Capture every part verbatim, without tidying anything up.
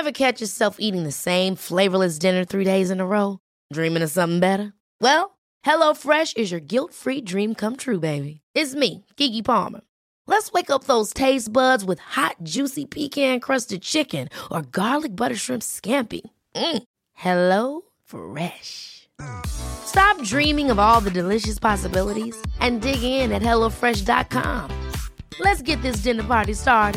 Ever catch yourself eating the same flavorless dinner three days in a row? Dreaming of something better? Well, HelloFresh is your guilt-free dream come true, baby. It's me, Keke Palmer. Let's wake up those taste buds with hot, juicy pecan-crusted chicken or garlic butter shrimp scampi. Mm. Hello Fresh. Stop dreaming of all the delicious possibilities and dig in at hello fresh dot com. Let's get this dinner party started.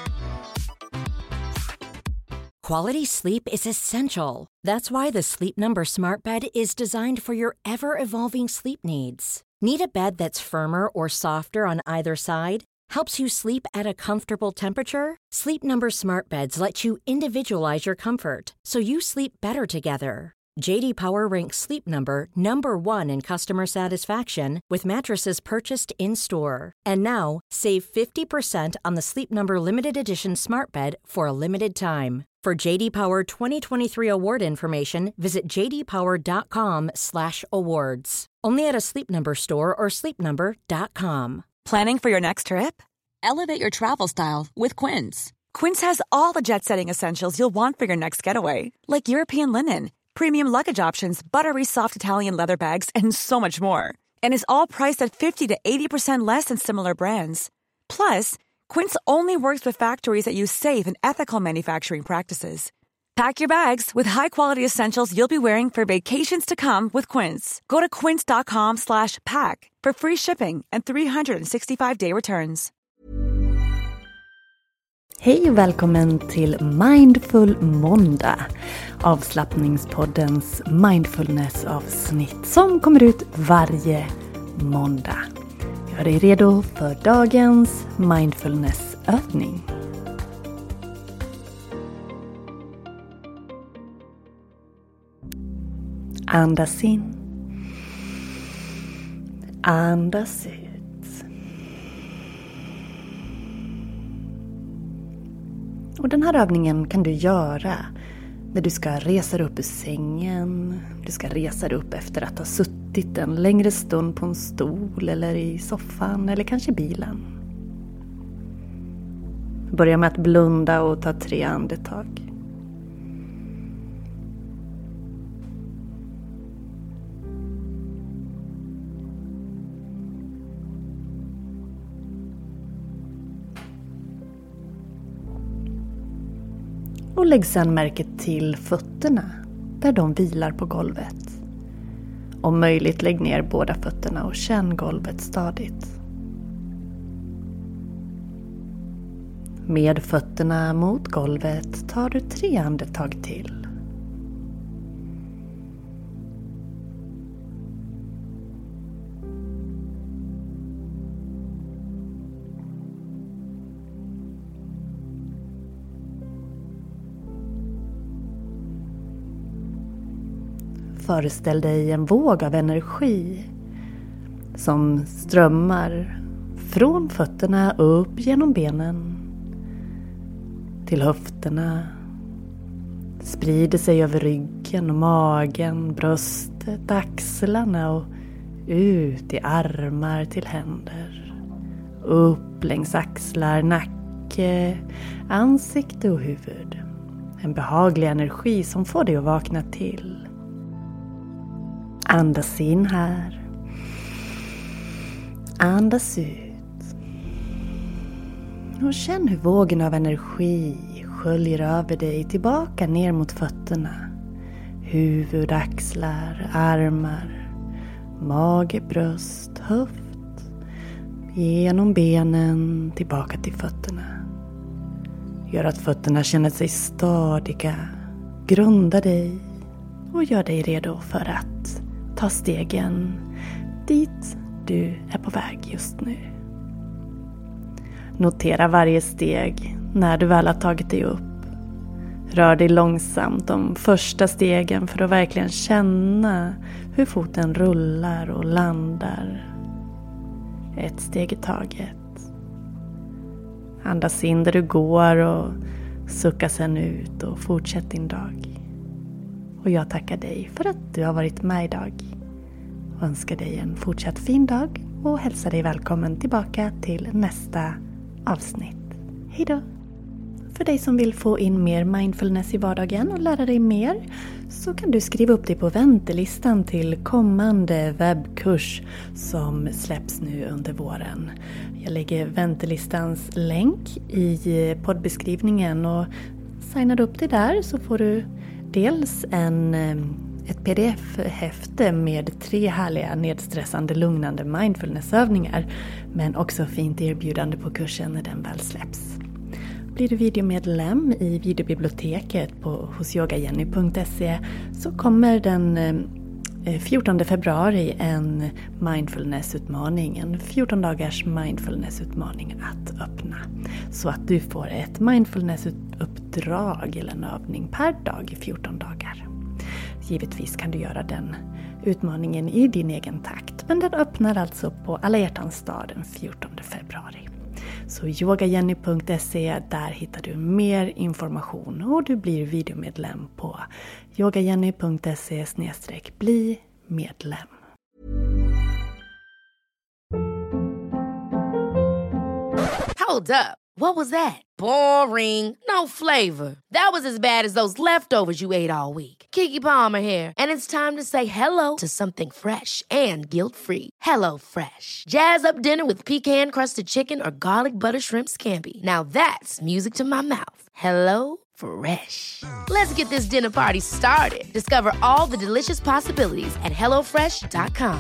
Quality sleep is essential. That's why the Sleep Number Smart Bed is designed for your ever-evolving sleep needs. Need a bed that's firmer or softer on either side? Helps you sleep at a comfortable temperature? Sleep Number Smart Beds let you individualize your comfort, so you sleep better together. J D Power ranks Sleep Number number one in customer satisfaction with mattresses purchased in-store. And now, save fifty percent on the Sleep Number Limited Edition Smart Bed for a limited time. For J D Power twenty twenty-three award information, visit j d power dot com slash awards. Only at a Sleep Number store or sleep number dot com. Planning for your next trip? Elevate your travel style with Quince. Quince has all the jet-setting essentials you'll want for your next getaway, like European linen, premium luggage options, buttery soft Italian leather bags, and so much more. And is all priced at fifty to eighty percent less than similar brands. Plus, Quince only works with factories that use safe and ethical manufacturing practices. Pack your bags with high-quality essentials you'll be wearing for vacations to come with Quince. Go to quince dot com slash pack for free shipping and three sixty-five day returns. Hej och välkommen till Mindful Måndag, avslappningspoddens mindfulness-avsnitt som kommer ut varje måndag. Gör dig redo för dagens mindfulness-övning. Andas in. Andas ut. Och den här övningen kan du göra när du ska resa dig upp ur sängen. Du ska resa dig upp efter att ha suttit en längre stund på en stol eller i soffan eller kanske bilen. Börja med att blunda och ta tre andetag. Och lägg sedan märke till fötterna där de vilar på golvet. Om möjligt lägg ner båda fötterna och känn golvet stadigt. Med fötterna mot golvet tar du tre andetag till. Föreställ dig en våg av energi som strömmar från fötterna upp genom benen till höfterna, sprider sig över ryggen och magen, bröstet, axlarna och ut i armar till händer, upp längs axlar, nacke, ansikte och huvud. En behaglig energi som får dig att vakna till. Andas in här. Andas ut. Och känn hur vågen av energi sköljer över dig tillbaka ner mot fötterna. Huvud, axlar, armar, mage, bröst, höft. Genom benen tillbaka till fötterna. Gör att fötterna känner sig stadiga. Grunda dig och gör dig redo för att ta stegen dit du är på väg just nu. Notera varje steg när du väl har tagit dig upp. Rör dig långsamt de första stegen för att verkligen känna hur foten rullar och landar. Ett steg i taget. Andas in där du går och sucka sedan ut och fortsätt din dag. Och jag tackar dig för att du har varit med idag. Och önskar dig en fortsatt fin dag och hälsar dig välkommen tillbaka till nästa avsnitt. Hej då! För dig som vill få in mer mindfulness i vardagen och lära dig mer så kan du skriva upp dig på väntelistan till kommande webbkurs som släpps nu under våren. Jag lägger väntelistans länk i poddbeskrivningen och signar upp dig där så får du dels en, ett pdf-häfte med tre härliga nedstressande lugnande mindfulnessövningar men också fint erbjudande på kursen när den väl släpps. Blir du videomedlem i videobiblioteket på hos yoga jenny punkt se så kommer den fjortonde februari en mindfulnessutmaning, en fjorton dagars mindfulnessutmaning att öppna. Så att du får ett mindfulnessuppdrag eller en övning per dag i fjorton dagar. Givetvis kan du göra den utmaningen i din egen takt, men den öppnar alltså på Alla hjärtans dag den fjortonde februari. Så yoga jenny punkt se, där hittar du mer information och du blir videomedlem på yoga jenny punkt se slash bli medlem. Hold up. What was that? Boring. No flavor. That was as bad as those leftovers you ate all week. Keke Palmer here, and it's time to say hello to something fresh and guilt-free. Hello Fresh. Jazz up dinner with pecan-crusted chicken or garlic butter shrimp scampi. Now that's music to my mouth. Hello Fresh. Let's get this dinner party started. Discover all the delicious possibilities at hello fresh dot com.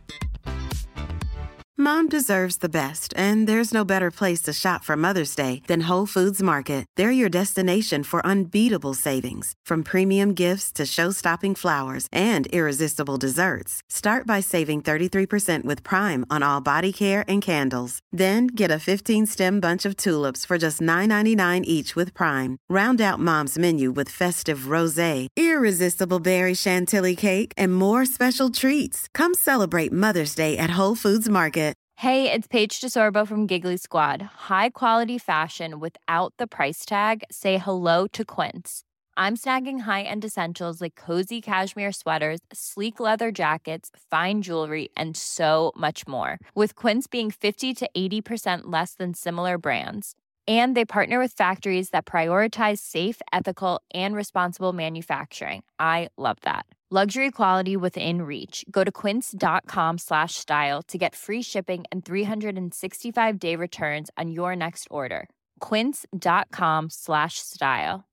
Mom deserves the best, and there's no better place to shop for Mother's Day than Whole Foods Market. They're your destination for unbeatable savings, from premium gifts to show-stopping flowers and irresistible desserts. Start by saving thirty-three percent with Prime on all body care and candles. Then get a fifteen-stem bunch of tulips for just nine ninety-nine each with Prime. Round out Mom's menu with festive rosé, irresistible berry chantilly cake, and more special treats. Come celebrate Mother's Day at Whole Foods Market. Hey, it's Paige DeSorbo from Giggly Squad. High quality fashion without the price tag. Say hello to Quince. I'm snagging high-end essentials like cozy cashmere sweaters, sleek leather jackets, fine jewelry, and so much more. With Quince being fifty to eighty percent less than similar brands. And they partner with factories that prioritize safe, ethical, and responsible manufacturing. I love that. Luxury quality within reach. Go to quince.com slash style to get free shipping and three sixty-five day returns on your next order. Quince.com slash style.